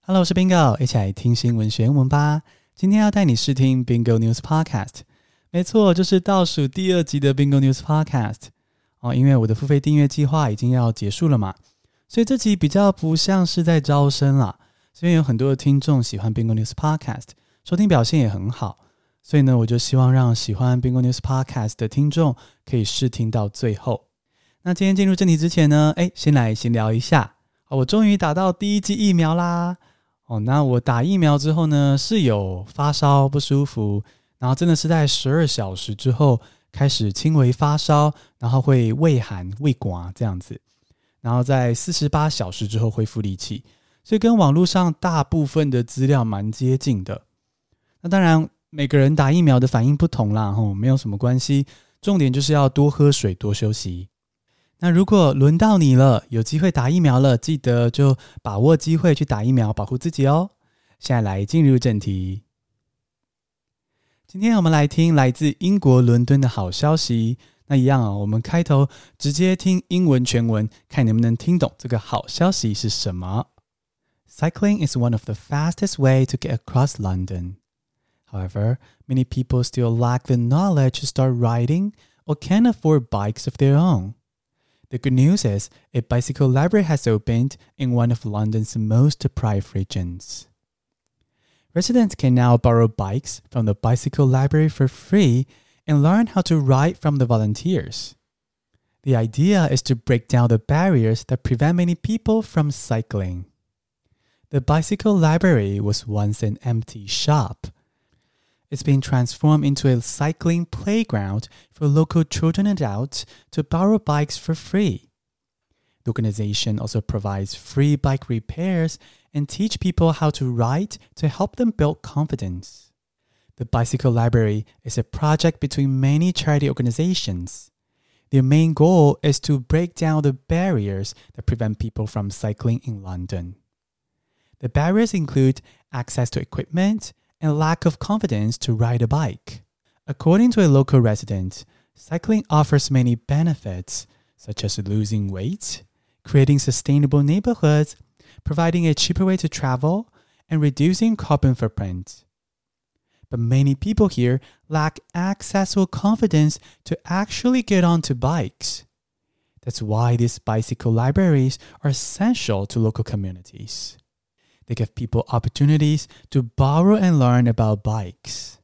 Hello， 我是 Bingo， 一起來聽新聞學英文吧。今天要帶你試聽 Bingo News Podcast， 沒錯，就是倒數第2集的 Bingo News Podcast。因為我的付費訂閱計劃已經要結束了嘛，所以這集比較不像是在招生啦。因為有很多的聽眾喜歡 Bingo News Podcast， 收聽表現也很好，所以呢，我就希望讓喜歡 Bingo News Podcast 的聽眾可以試聽到最後。那今天進入正題之前呢，先來閒聊一下。我終於打到第1劑疫苗啦。那我打疫苗之後呢，是有發燒不舒服，然後真的是在12小時之後開始輕微發燒，然後會畏寒畏寒這樣子，然後在48小時之後恢復力氣，所以跟網絡上大部分的資料蠻接近的。那當然每個人打疫苗的反應不同啦，沒有什麼關係，重點就是要多喝水，多休息。那如果輪到你了，有機會打疫苗了，記得就把握機會去打疫苗，保護自己哦。現在來進入正題。今天我們來聽來自英國倫敦的好消息。那一樣我們開頭直接聽英文全文，看能不能聽懂這個好消息是什麼。Cycling is one of the fastest way to get across London. However, many people still lack the knowledge to start riding or can't afford bikes of their own.The good news is, a bicycle library has opened in one of London's most deprived regions. Residents can now borrow bikes from the bicycle library for free and learn how to ride from the volunteers. The idea is to break down the barriers that prevent many people from cycling. The bicycle library was once an empty shop.It's been transformed into a cycling playground for local children and adults to borrow bikes for free. The organization also provides free bike repairs and teach people how to ride to help them build confidence. The Bicycle Library is a project between many charity organizations. Their main goal is to break down the barriers that prevent people from cycling in London. The barriers include access to equipment,and lack of confidence to ride a bike. According to a local resident, cycling offers many benefits, such as losing weight, creating sustainable neighborhoods, providing a cheaper way to travel, and reducing carbon footprint. But many people here lack access or confidence to actually get onto bikes. That's why these bicycle libraries are essential to local communities.They give people opportunities to borrow and learn about bikes.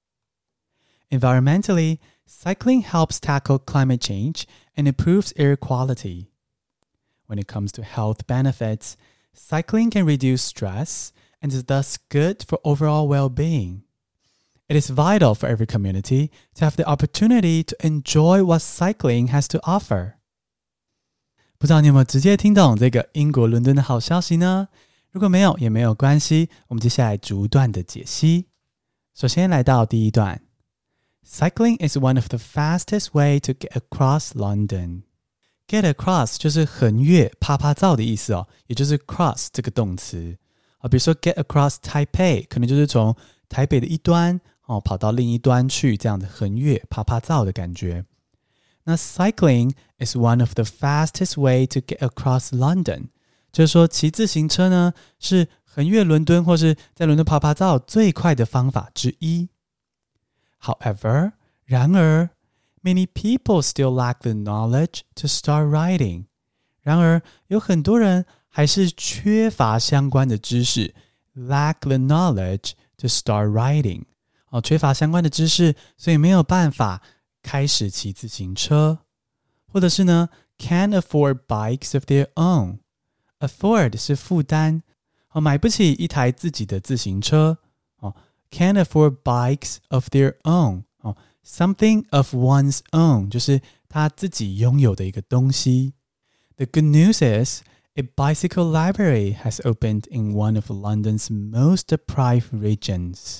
Environmentally, cycling helps tackle climate change and improves air quality. When it comes to health benefits, cycling can reduce stress and is thus good for overall well-being. It is vital for every community to have the opportunity to enjoy what cycling has to offer. 不知道你有沒有直接聽懂這個英國倫敦的好消息呢？如果沒有也沒有關係，我們接下來逐段的解析。首先來到第一段 Cycling is one of the fastest way to get across London. Get across 就是橫越趴趴造的意思也就是 cross 這個動詞比如說 get across Taipei 可能就是從台北的一端跑到另一端去，這樣的橫越趴趴造的感覺。那 Cycling is one of the fastest way to get across London，就是說騎自行車呢是橫越倫敦或是在倫敦趴趴造最快的方法之一。However， 然而 many people still lack the knowledge to start riding。 然而有很多人還是缺乏相關的知識 lack the knowledge to start riding。 缺乏相關的知識，所以沒有辦法開始騎自行車。或者是呢 can't afford bikes of their own。Afford 是負擔買不起一台自己的自行車Can't afford bikes of their own Something of one's own 就是他自己擁有的一個東西。 The good news is a bicycle library has opened in one of London's most deprived regions.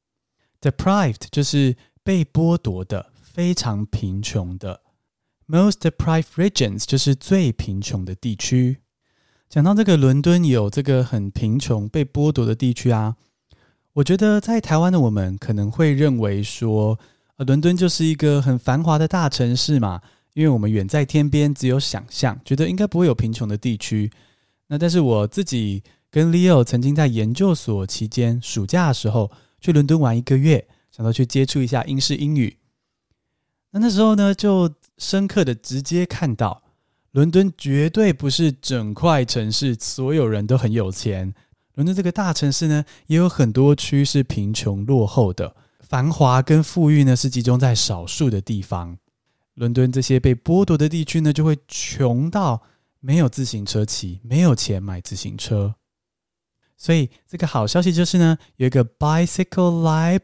Deprived 就是被剝奪的，非常貧窮的。 Most deprived regions 就是最貧窮的地區。講到這個倫敦有這個很貧窮被剝奪的地區我覺得在台灣的我們可能會認為說倫敦就是一個很繁華的大城市嘛，因為我們遠在天邊，只有想象，覺得應該不會有貧窮的地區。那但是我自己跟 Leo 曾經在研究所期間暑假的時候去倫敦玩1個月，想到去接觸一下英式英語。那時候呢，就深刻的直接看到倫敦絕對不是整塊城市所有人都很有錢，倫敦這個大城市呢，也有很多區是貧窮落後的，繁華跟富裕呢是集中在少數的地方。倫敦這些被剝奪的地區呢，就會窮到沒有自行車騎，沒有錢買自行車。所以這個好消息就是呢，有一個 bicycle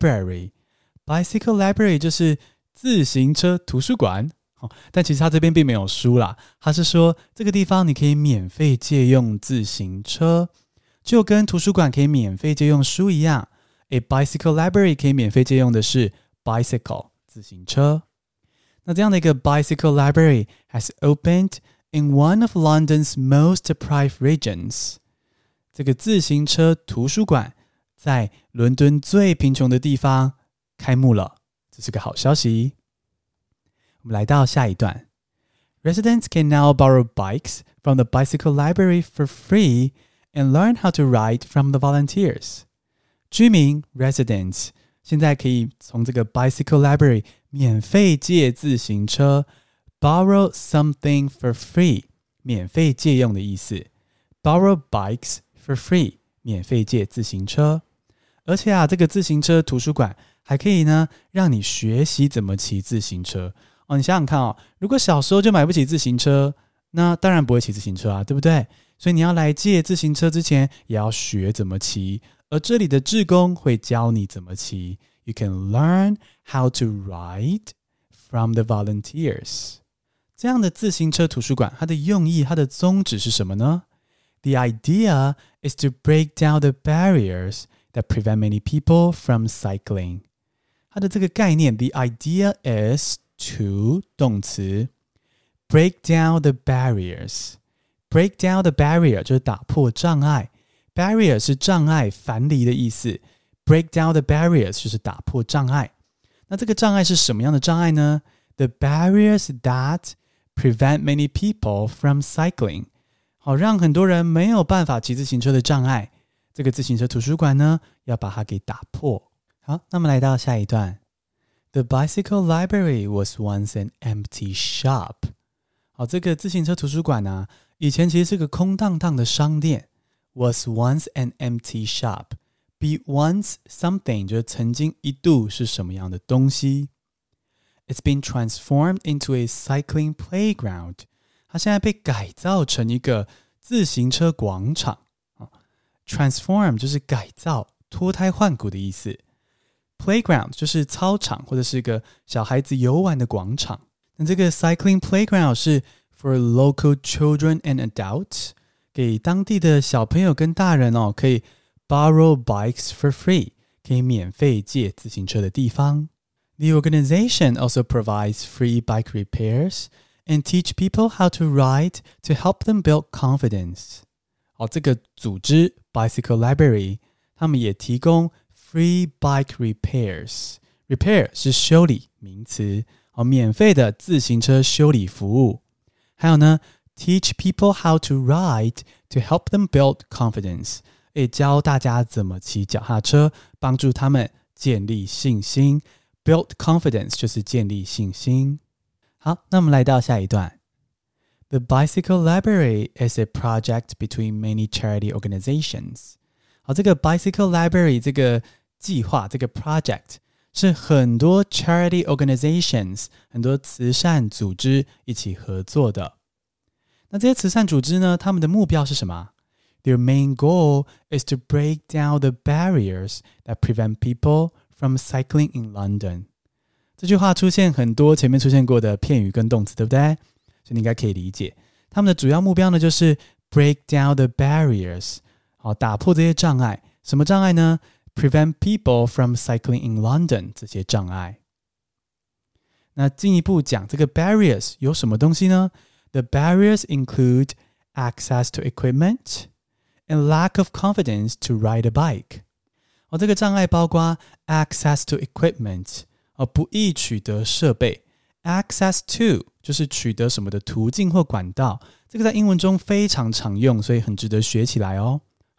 library。bicycle library 就是自行車圖書館。但其實他這邊並沒有書啦，他是說這個地方你可以免費借用自行車，就跟圖書館可以免費借用書一樣。A bicycle library 可以免費借用的是 bicycle 自行車。那這樣的一個 bicycle library has opened in one of London's most deprived regions。這個自行車圖書館在倫敦最貧窮的地方開幕了，這是個好消息。我們來到下一段。Residents can now borrow bikes from the bicycle library for free and learn how to ride from the volunteers。居民 residents 現在可以從這個 bicycle library 免費借自行車 borrow something for free 免費借用的意思 borrow bikes for free 免費借自行車。而且這個自行車圖書館還可以呢讓你學習怎麼騎自行車。你想想看如果小時候就買不起自行車，那當然不会騎自行車啊，對不對？所以你要來借自行車之前也要學怎麼騎，而這裡的志工會教你怎麼騎。You can learn how to ride from the volunteers。 這樣的自行車圖書館它的用意，它的宗旨是什麼呢？ The idea is to break down the barriers that prevent many people from cycling。 它的這個概念 The idea is to 動詞 break down the barriers。 break down the barrier 就是打破障礙， barrier 是障礙樊籬的意思， break down the barriers 就是打破障礙。那這個障礙是什麼樣的障礙呢？ The barriers that prevent many people from cycling。 好，讓很多人沒有辦法騎自行車的障礙，這個自行車圖書館呢要把它給打破。好，那麼來到下一段。The bicycle library was once an empty shop。 好，這個自行車圖書館以前其實是個空蕩蕩的商店。Was once an empty shop。 Be once something 就是曾經一度是什麼樣的東西。It's been transformed into a cycling playground。 它現在被改造成一個自行車廣場。Transform 就是改造、脫胎換骨的意思。Playground 就是操場或者是一個小孩子遊玩的廣場。那這個 cycling playground 是 for local children and adults， 給當地的小朋友跟大人可以 borrow bikes for free， 可以免費借自行車的地方。The organization also provides free bike repairs and teach people how to ride to help them build confidence。 好，這個組織 Bicycle Library 他們也提供Free bike repairs。 Repair 是修理名詞，免費的自行車修理服務。還有呢 Teach people how to ride to help them build confidence， 也教大家怎麼騎腳踏車，幫助他們建立信心。 Build confidence 就是建立信心。好，那我們來到下一段。The bicycle library is a project between many charity organizations。 好，這個 bicycle library 這個計劃，這個 project 是很多 charity organizations 很多慈善組織一起合作的。那這些慈善組織呢，他們的目標是什麼？ Their main goal is to break down the barriers that prevent people from cycling in London。 這句話出現很多前面出現過的片語跟動詞，對不對？所以你應該可以理解，他们的主要目標呢就是 break down the barriers， 好，打破這些障礙。什麼障礙呢？ Prevent people from cycling in London， 這些障礙。那進一步講這個 barriers 有什麼東西呢？ The barriers include access to equipment and lack of confidence to ride a bike。 這個障礙包括 access to equipment， 不易取得設備。 access to 就是取得什麼的途徑或管道，這個在英文中非常常用，所以很值得學起來哦。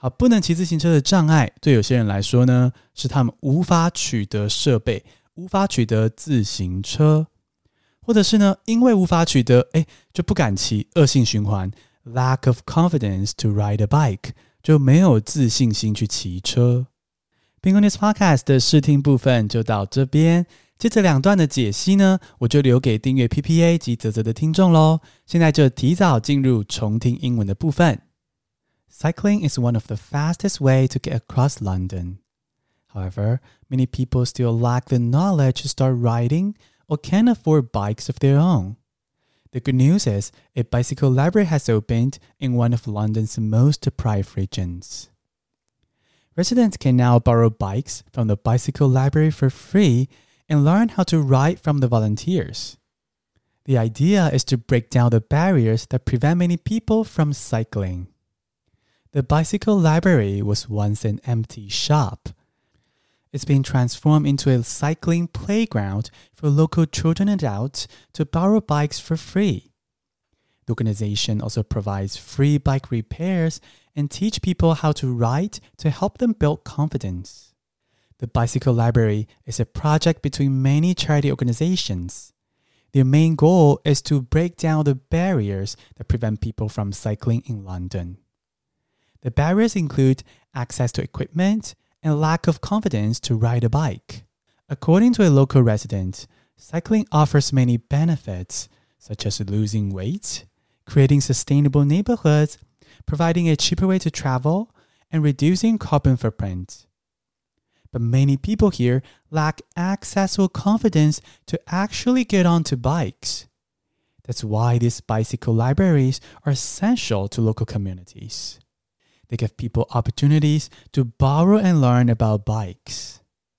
好，不能騎自行車的障礙，對有些人來說呢，是他們無法取得設備，無法取得自行車，或者是呢，因為無法取得，就不敢騎，惡性循環 ，lack of confidence to ride a bike， 就沒有自信心去騎車。Bingo News Podcast 的試聽部分就到這邊，接着兩段的解析呢，我就留給訂閱 PPA 及嘖嘖的聽眾咯。現在就提早進入重聽英文的部分。Cycling is one of the fastest ways to get across London. However, many people still lack the knowledge to start riding or can't afford bikes of their own. The good news is a bicycle library has opened in one of London's most deprived regions. Residents can now borrow bikes from the bicycle library for free and learn how to ride from the volunteers. The idea is to break down the barriers that prevent many people from cycling. The bicycle library was once an empty shop. It's been transformed into a cycling playground for local children and adults to borrow bikes for free. The organization also provides free bike repairs and teach people how to ride to help them build confidence. The Bicycle Library is a project between many charity organizations. Their main goal is to break down the barriers that prevent people from cycling in London. The barriers include access to equipment and lack of confidence to ride a bike. According to a local resident, cycling offers many benefits, such as losing weight, creating sustainable neighborhoods, providing a cheaper way to travel, and reducing carbon footprint. But many people here lack access or confidence to actually get onto bikes. That's why these bicycle libraries are essential to local communities. They give people opportunities to borrow and learn about bikes.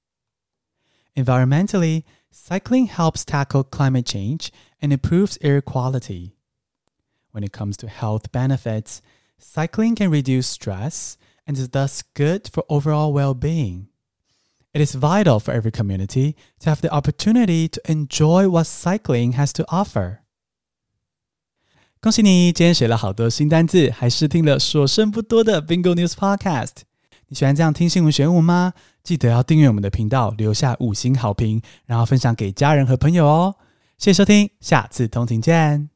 Environmentally, cycling helps tackle climate change and improves air quality. When it comes to health benefits, cycling can reduce stress and is thus good for overall well-being. It is vital for every community to have the opportunity to enjoy what cycling has to offer. 恭喜你，今天學了好多新單字，還試聽了所剩不多的 Bingo News Podcast。你喜歡這樣聽新聞學英文嗎？記得要訂閱我們的頻道，留下5星好評，然後分享給家人和朋友哦。謝謝收聽，下次通勤見。